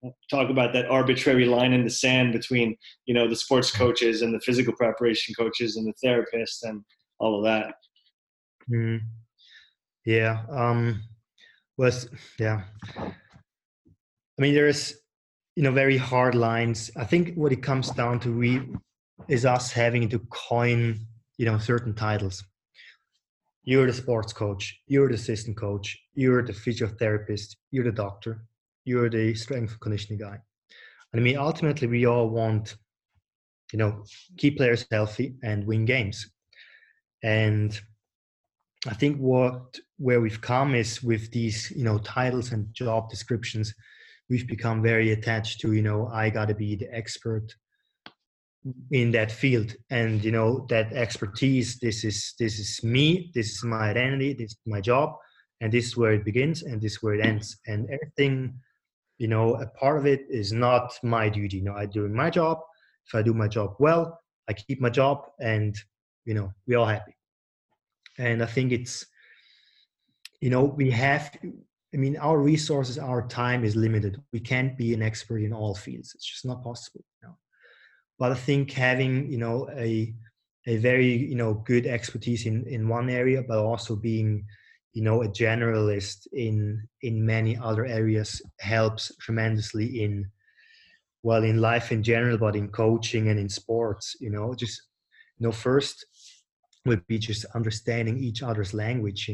talk about that arbitrary line in the sand between, the sports coaches and the physical preparation coaches and the therapists and all of that. Mm. Yeah. Was yeah. I mean, there's very hard lines. I think what it comes down to is us having to coin certain titles. You're the sports coach, you're the assistant coach, you're the physiotherapist, you're the doctor, you're the strength and conditioning guy. And I mean, ultimately, we all want, keep players healthy and win games. And I think where we've come is with these, titles and job descriptions, we've become very attached to, I got to be the expert in that field, and that expertise. This is me. This is my identity. This is my job, and this is where it begins, and this is where it ends. And everything, a part of it is not my duty. I'm doing my job. If I do my job well, I keep my job, and we're all happy. And I think it's, we have. I mean, our resources, our time is limited. We can't be an expert in all fields. It's just not possible. But I think having, a very, good expertise in one area, but also being, a generalist in many other areas helps tremendously in life in general, but in coaching and in sports. Just, first would be just understanding each other's language.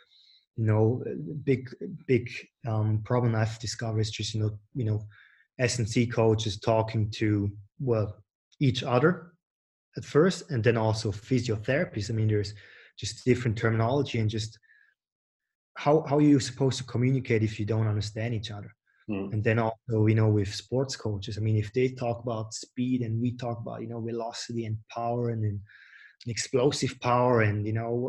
Big problem I've discovered is just S&C coaches talking to each other at first, and then also physiotherapists. I mean, there's just different terminology, and just how are you supposed to communicate if you don't understand each other? And then also, with sports coaches, I mean, if they talk about speed and we talk about, velocity and power and explosive power, and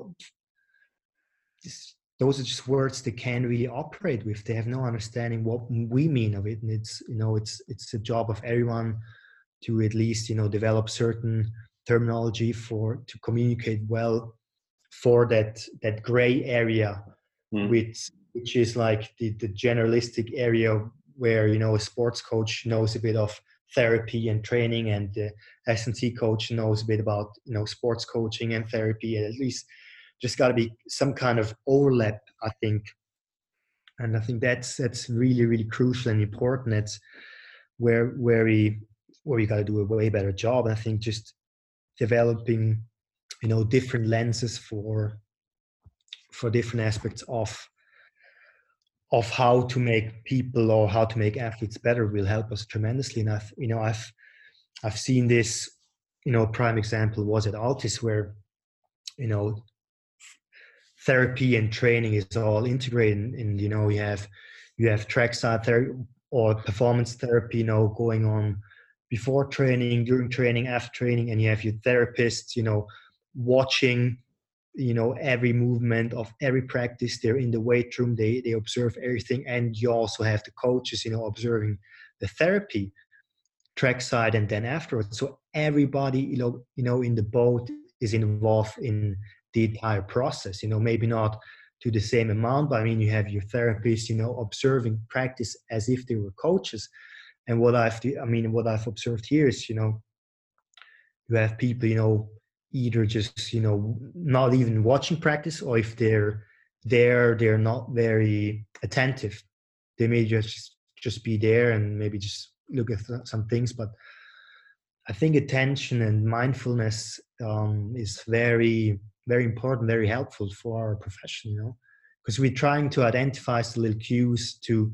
those are just words they can't really operate with. They have no understanding what we mean of it. And it's the job of everyone to at least develop certain terminology to communicate well for that gray area, which is like the generalistic area where a sports coach knows a bit of therapy and training, and the S&C coach knows a bit about sports coaching and therapy. And at least just got to be some kind of overlap, I think. And I think that's really, really crucial and important. That's where we got to do a way better job. And I think just developing, different lenses for different aspects of how to make people or how to make athletes better will help us tremendously. And I've seen this, prime example was at Altis, where, therapy and training is all integrated, and you have trackside therapy or performance therapy, going on before training, during training, after training, and you have your therapists, watching, every movement of every practice. They're in the weight room, they observe everything, and you also have the coaches, observing the therapy trackside and then afterwards. So everybody, in the boat is involved in the entire process. Maybe not to the same amount, but I mean, you have your therapists, observing practice as if they were coaches. And what I've observed here is, you have people, either just, not even watching practice, or if they're there, they're not very attentive. They may just be there and maybe just look at some things. But I think attention and mindfulness is very, very important, very helpful for our profession, because we're trying to identify the little cues to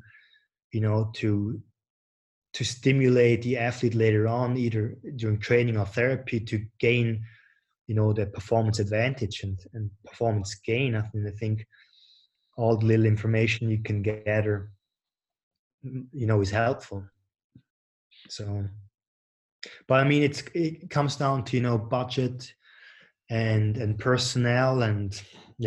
stimulate the athlete later on, either during training or therapy, to gain, the performance advantage and performance gain. I think all the little information you can gather, is helpful. So, but I mean, it comes down to, budget and personnel, and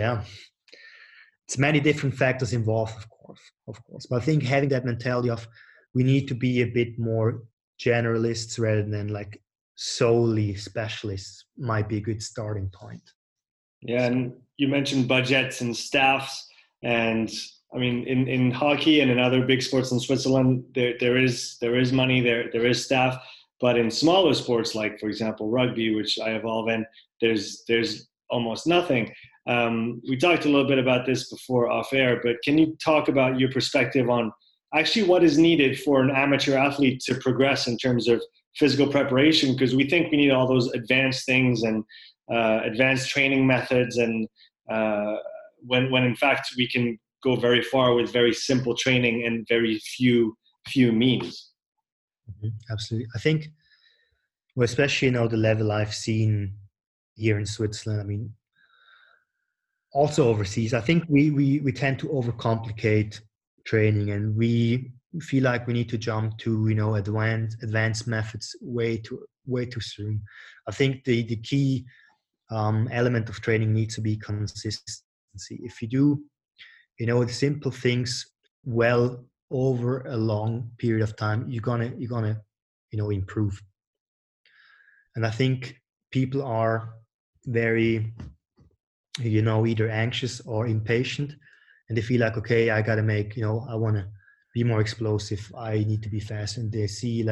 it's many different factors involved, of course. But I think having that mentality of, we need to be a bit more generalists rather than like solely specialists might be a good starting point. Yeah, and you mentioned budgets and staffs, and I mean, in hockey and in other big sports in Switzerland, there is money, there is staff, but in smaller sports like, for example, rugby, which I evolve in, there's almost nothing. We talked a little bit about this before off air, but can you talk about your perspective on actually what is needed for an amateur athlete to progress in terms of physical preparation? Because we think we need all those advanced things and advanced training methods, and when in fact we can go very far with very simple training and very few means. Absolutely. I think, well, especially, the level I've seen here in Switzerland, I mean, also overseas, I think we tend to overcomplicate training, and we feel like we need to jump to, advanced methods way too soon. I think the key element of training needs to be consistency. If you do, the simple things well over a long period of time, you're gonna improve. And I think people are very, either anxious or impatient, and they feel like, okay, I gotta make, I want to be more explosive, I need to be fast, and they see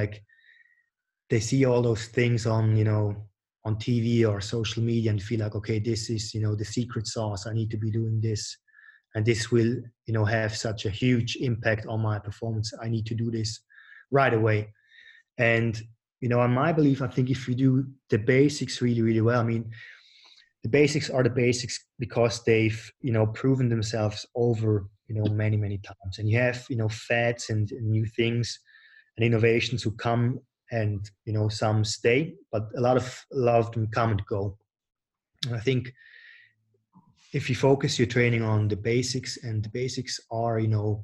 all those things on on TV or social media, and feel like, okay, this is the secret sauce, I need to be doing this, and this will have such a huge impact on my performance, I need to do this right away. And on my belief, I think if you do the basics really, really well, I mean, the basics are the basics because they've proven themselves over many, many times. And you have fads and new things and innovations who come, and some stay, but a lot of them come and go. And I think if you focus your training on the basics, and the basics are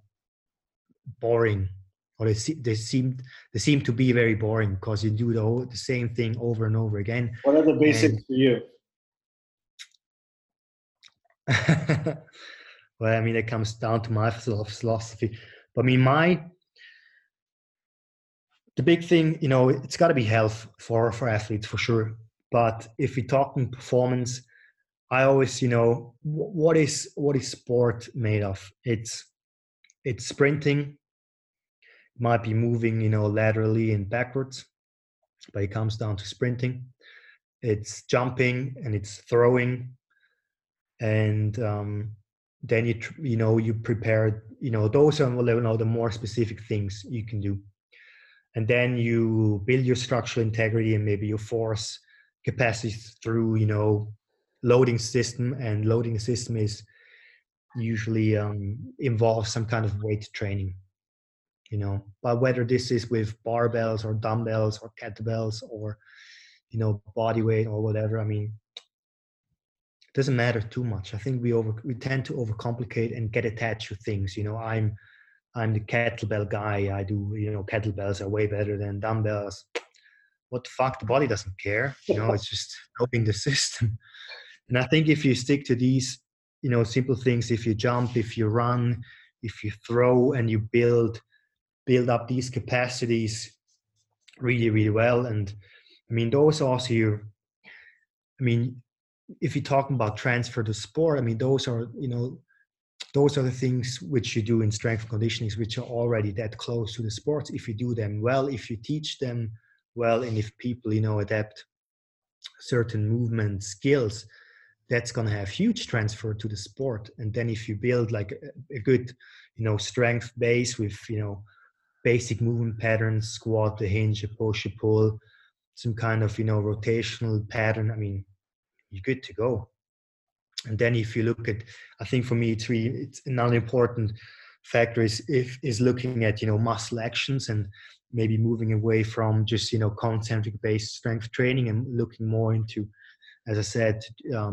boring, or they seem to be very boring because you do the same thing over and over again. What are the basics for you? Well, I mean, it comes down to my philosophy. But I mean, the big thing, it's got to be health for athletes for sure. But if we're talking performance, I always, what is sport made of? It's sprinting. It might be moving, laterally and backwards, but it comes down to sprinting. It's jumping and it's throwing, and then you prepare. Those are the more specific things you can do, and then you build your structural integrity and maybe your force capacity through loading system. And loading system is usually involves some kind of weight training. But whether this is with barbells or dumbbells or kettlebells or body weight or whatever, I mean, it doesn't matter too much. I think we tend to overcomplicate and get attached to things. I'm the kettlebell guy. I do, kettlebells are way better than dumbbells. What the fuck? The body doesn't care. It's just knowing the system. And I think if you stick to these, simple things, if you jump, if you run, if you throw, and you build up these capacities really, really well. And I mean, those also if you're talking about transfer to sport, I mean, those are the things which you do in strength and conditioning, which are already that close to the sports. If you do them well, if you teach them well, and if people, adapt certain movement skills, that's going to have huge transfer to the sport. And then if you build like a good, strength base with, basic movement patterns, squat, the hinge, a push, a pull, some kind of, rotational pattern, I mean, you're good to go. And then if you look at, I think for me, it's another important factor is looking at, muscle actions, and maybe moving away from just, concentric based strength training and looking more into, as I said,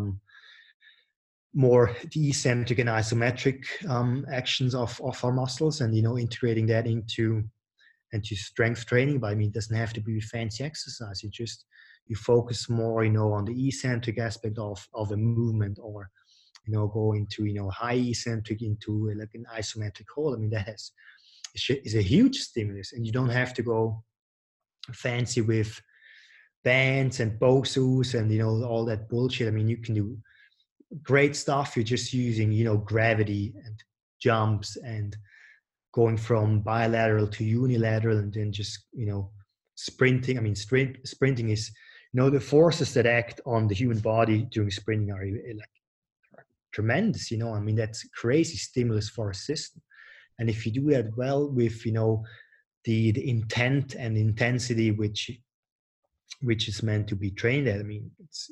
more the eccentric and isometric actions of our muscles, and integrating that into strength training. But I mean, it doesn't have to be fancy exercise. You focus more on the eccentric aspect of a movement, or go into high eccentric into like an isometric hold. I mean, that is a huge stimulus, and you don't have to go fancy with bands and BOSUs and all that bullshit. I mean, you can do great stuff. You're just using gravity and jumps and going from bilateral to unilateral, and then just, sprinting. I mean, sprinting is, the forces that act on the human body during sprinting are like tremendous. I mean, that's crazy stimulus for a system. And if you do that well with, the intent and intensity which is meant to be trained at, I mean, it's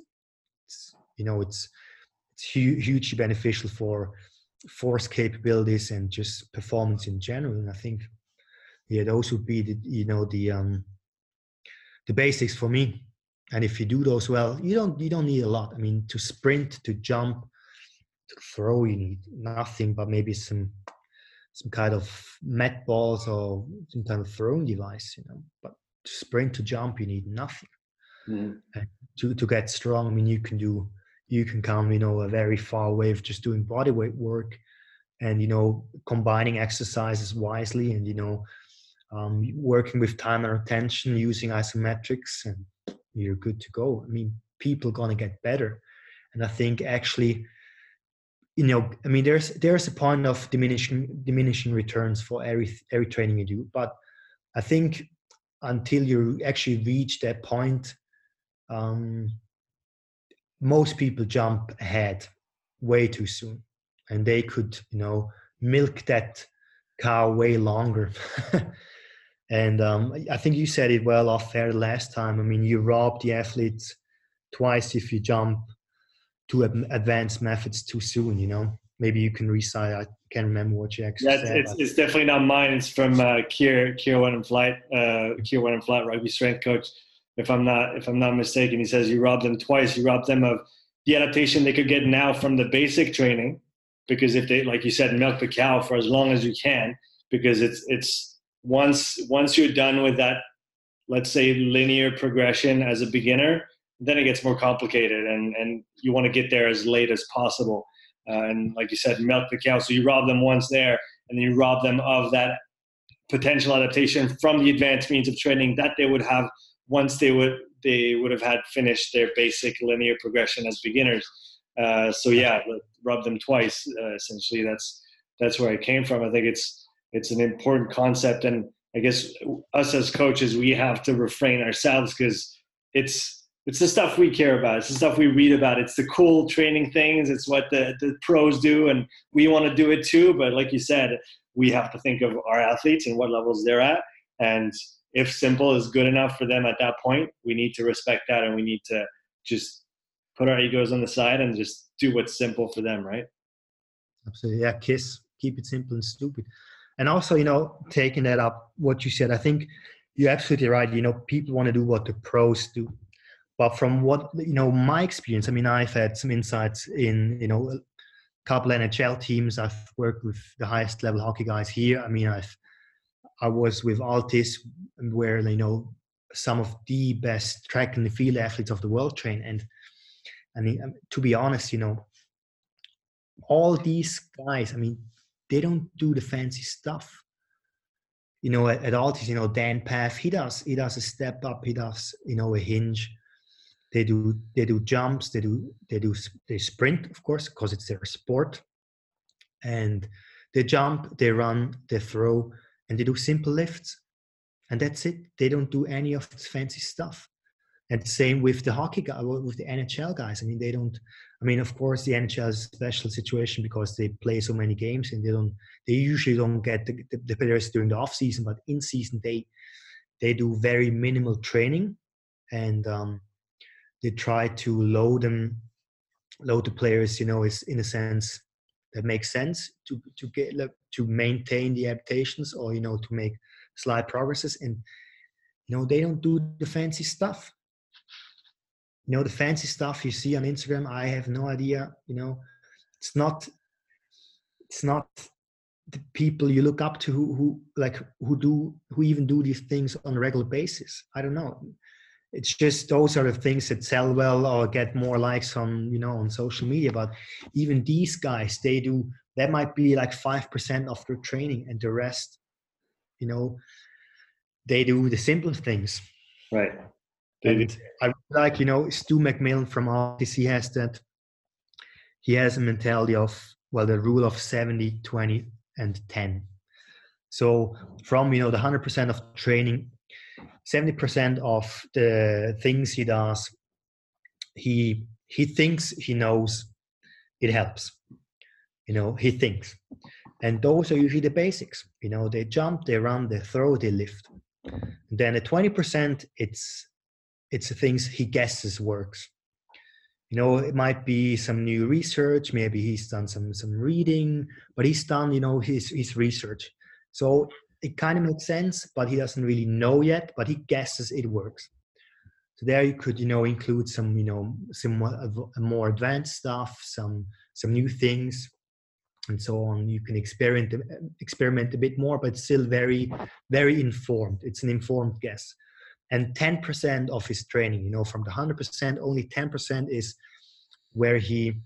hugely beneficial for force capabilities and just performance in general. And I think, those would be the basics for me. And if you do those well, you don't need a lot. I mean, to sprint, to jump, to throw, you need nothing but maybe some kind of met balls or some kind of throwing device, But to sprint, to jump, you need nothing. And to get strong, I mean, you can come, a very far way of just doing body weight work, and combining exercises wisely, and working with time and attention, using isometrics, and you're good to go. I mean, people are gonna get better, and I think actually, I mean, there's a point of diminishing returns for every training you do, but I think until you actually reach that point, most people jump ahead way too soon, and they could, milk that cow way longer. And I think you said it well off air last time. I mean, you rob the athletes twice if you jump to advanced methods too soon. Maybe you can recite. I can't remember what you actually said. It's definitely not mine. It's from Kier Wenenflat, rugby strength coach. If I'm not mistaken, he says you rob them twice. You rob them of the adaptation they could get now from the basic training, because if they, like you said, milk the cow for as long as you can, because it's once you're done with that, let's say, linear progression as a beginner, then it gets more complicated, and you want to get there as late as possible. And like you said, milk the cow. So you rob them once there, and then you rob them of that potential adaptation from the advanced means of training that they would have once they would have had finished their basic linear progression as beginners. So yeah, rub them twice. Essentially, that's where I came from. I think it's an important concept, and I guess us as coaches, we have to refrain ourselves, because it's the stuff we care about. It's the stuff we read about. It's the cool training things. It's what the pros do, and we want to do it too. But like you said, we have to think of our athletes and what levels they're at. And if simple is good enough for them at that point, we need to respect that, and we need to just put our egos on the side and just do what's simple for them, right? Absolutely. Yeah, keep it simple and stupid. And also, taking that up, what you said, I think you're absolutely right. People want to do what the pros do. But from what, my experience, I mean, I've had some insights in, a couple NHL teams. I've worked with the highest level hockey guys here. I mean, I was with Altis, where, some of the best track and field athletes of the world train. And I mean, to be honest, all these guys, I mean, they don't do the fancy stuff. At Altis, Dan Paff, he does a step up, he does, a hinge. They do jumps, they sprint, of course, because it's their sport. And they jump, they run, they throw, and they do simple lifts. And that's it. They don't do any of this fancy stuff. And same with the hockey guy, with the NHL guys. I mean, they don't. I mean, of course, the NHL is a special situation because they play so many games, and they usually don't get the players during the off season. But in season, they do very minimal training, and they try to load the players. Is in a sense that makes sense to maintain the adaptations, or to make slight progresses. And they don't do the fancy stuff. The fancy stuff you see on Instagram, I have no idea. It's not the people you look up to who even do these things on a regular basis. I don't know. It's just those are the things that sell well or get more likes on on social media. But even these guys, that might be like 5% of their training, and the rest, they do the simple things. Right. And I like, Stu McMillan from Altis, he has a mentality of, the rule of 70-20, and 10. So from, the 100% of training, 70% of the things he does, he thinks he knows it helps. He thinks. And those are usually the basics. They jump, they run, they throw, they lift. And then at 20%, it's the things he guesses works. It might be some new research. Maybe he's done some reading, but he's done, his research. So it kind of makes sense, but he doesn't really know yet, but he guesses it works. So there you could, include some, some more advanced stuff, some new things, and so on. You can experiment a bit more, but still very, very informed. It's an informed guess. And 10% of his training, from the 100%, only 10% is where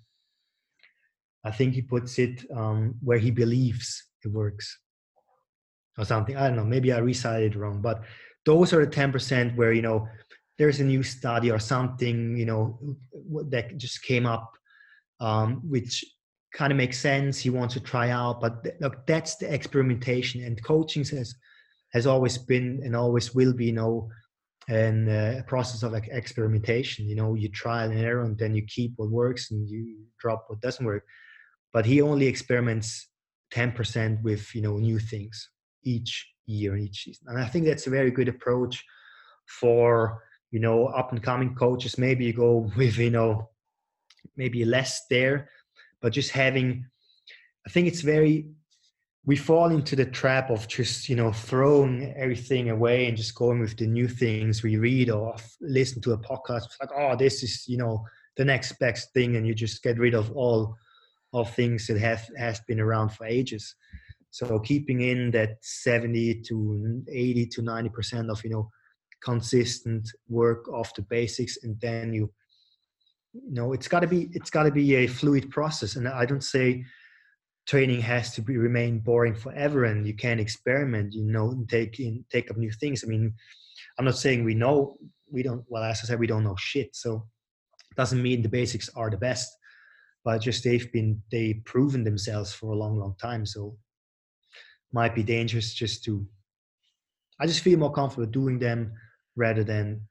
I think he puts it, where he believes it works or something. I don't know, maybe I recited it wrong, but those are the 10% where, there's a new study or something, that just came up, which kind of makes sense. He wants to try out, but look, that's the experimentation, and coaching has always been and always will be, and a process of experimentation. You trial and error, and then you keep what works and you drop what doesn't work. But he only experiments 10% with new things each year, each season. And I think that's a very good approach for up and coming coaches. Maybe you go with maybe less there, but just having, I think it's we fall into the trap of just, throwing everything away and just going with the new things we read or listen to a podcast. It's like, oh, this is, the next best thing. And you just get rid of all of things that has been around for ages. So keeping in that 70 to 80 to 90% of, consistent work of the basics. And then it's gotta be a fluid process. And I don't say training has to remain boring forever, and you can experiment, take up new things. I mean, I'm not saying we don't, well, as I said, we don't know shit. So it doesn't mean the basics are the best, but just they've proven themselves for a long, long time. So might be dangerous I just feel more comfortable doing them rather than,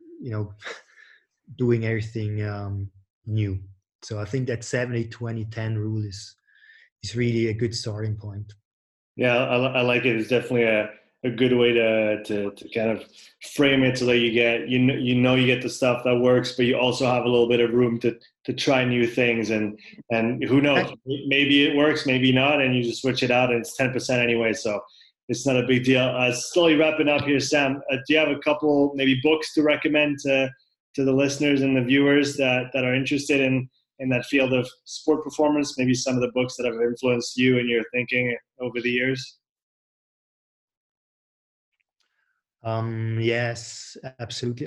doing everything new. So I think that 70-20-10 rule is really a good starting point. Yeah, I like it. It's definitely a good way to kind of frame it so that you get the stuff that works, but you also have a little bit of room to try new things, and who knows, maybe it works, maybe not, and you just switch it out, and it's 10% anyway, so it's not a big deal. Slowly wrapping up here, Sam, do you have a couple maybe books to recommend to the listeners and the viewers that are interested in that field of sport performance, maybe some of the books that have influenced you and your thinking over the years? Yes, absolutely.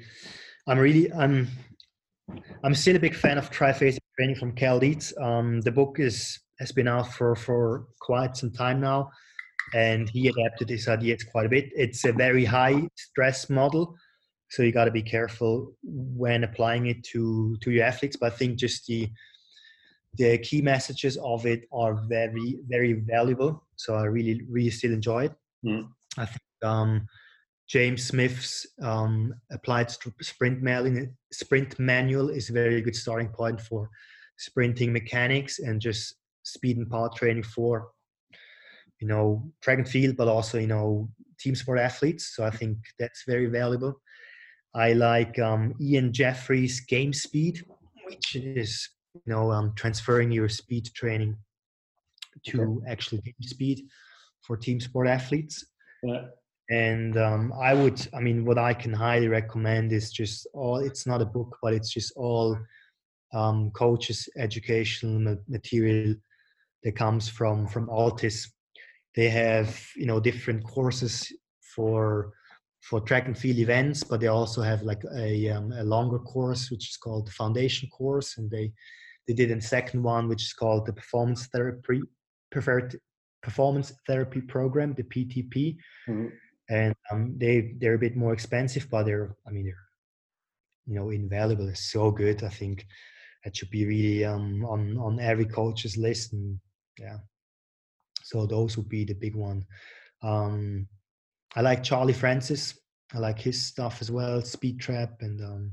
I'm still a big fan of Triphasic Training from Cal Dietz. The book has been out for quite some time now, and he adapted his ideas quite a bit. It's a very high stress model, so you got to be careful when applying it to your athletes. But I think just the key messages of it are very, very valuable. So I really, really still enjoy it. I think James Smith's applied sprint manual is a very good starting point for sprinting mechanics and just speed and power training for, track and field, but also, team sport athletes. So I think that's very valuable. I like Ian Jeffrey's Game Speed, which is, transferring your speed training to actual game speed for team sport athletes. Yeah. And what I can highly recommend is just it's not a book, but it's just all coaches' educational material that comes from Altis. They have, different courses for track and field events, but they also have like a longer course, which is called the foundation course. And they did a second one, which is called the preferred performance therapy program, the PTP. Mm-hmm. And they're a bit more expensive, but they're invaluable. It's so good. I think that should be really on every coach's list. And yeah, So those would be the big one. I like Charlie Francis. I like his stuff as well, Speed Trap and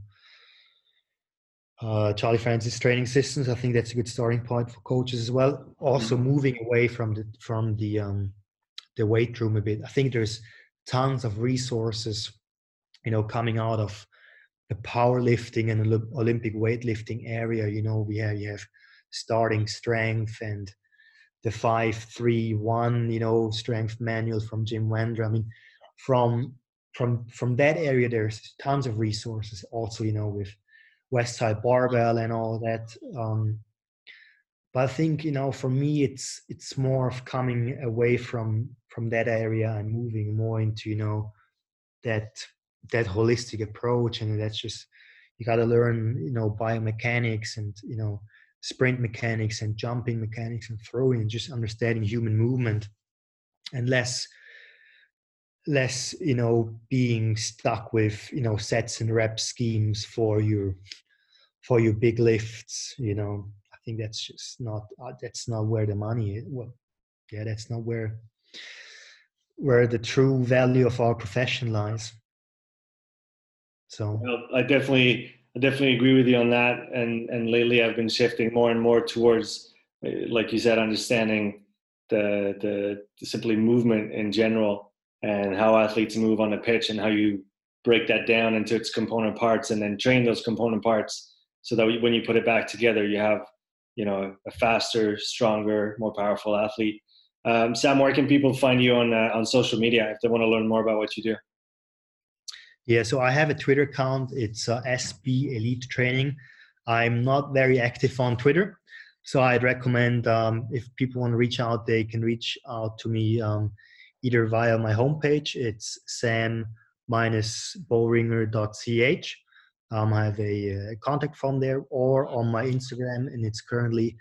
Charlie Francis training systems. I think that's a good starting point for coaches as well. Also moving away from the weight room a bit. I think there's tons of resources, coming out of the powerlifting and Olympic weightlifting area. You have starting strength and the 5-3-1, strength manual from Jim Wendra. I mean, from that area, there's tons of resources. Also, with Westside Barbell and all that. But I think, for me, it's more of coming away from that area and moving more into, that holistic approach. And that's just, you got to learn, biomechanics and, sprint mechanics and jumping mechanics and throwing and just understanding human movement and less, being stuck with, sets and rep schemes for your big lifts. I think that's just that's not where the money is. Well, yeah, that's not where the true value of our profession lies. So well, I definitely agree with you on that. And lately I've been shifting more and more towards, like you said, understanding the simply movement in general and how athletes move on the pitch and how you break that down into its component parts and then train those component parts so that when you put it back together, you have, a faster, stronger, more powerful athlete. Sam, where can people find you on social media if they want to learn more about what you do? Yeah, so I have a Twitter account. It's SB Elite Training. I'm not very active on Twitter, so I'd recommend if people want to reach out, they can reach out to me either via my homepage. It's sam-boringer.ch. I have a contact form there, or on my Instagram, and it's currently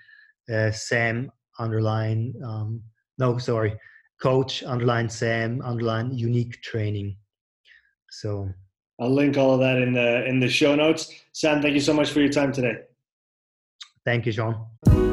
coach_Sam_unique training. So I'll link all of that in the show notes. Sam, thank you so much for your time today. Thank you, Sean.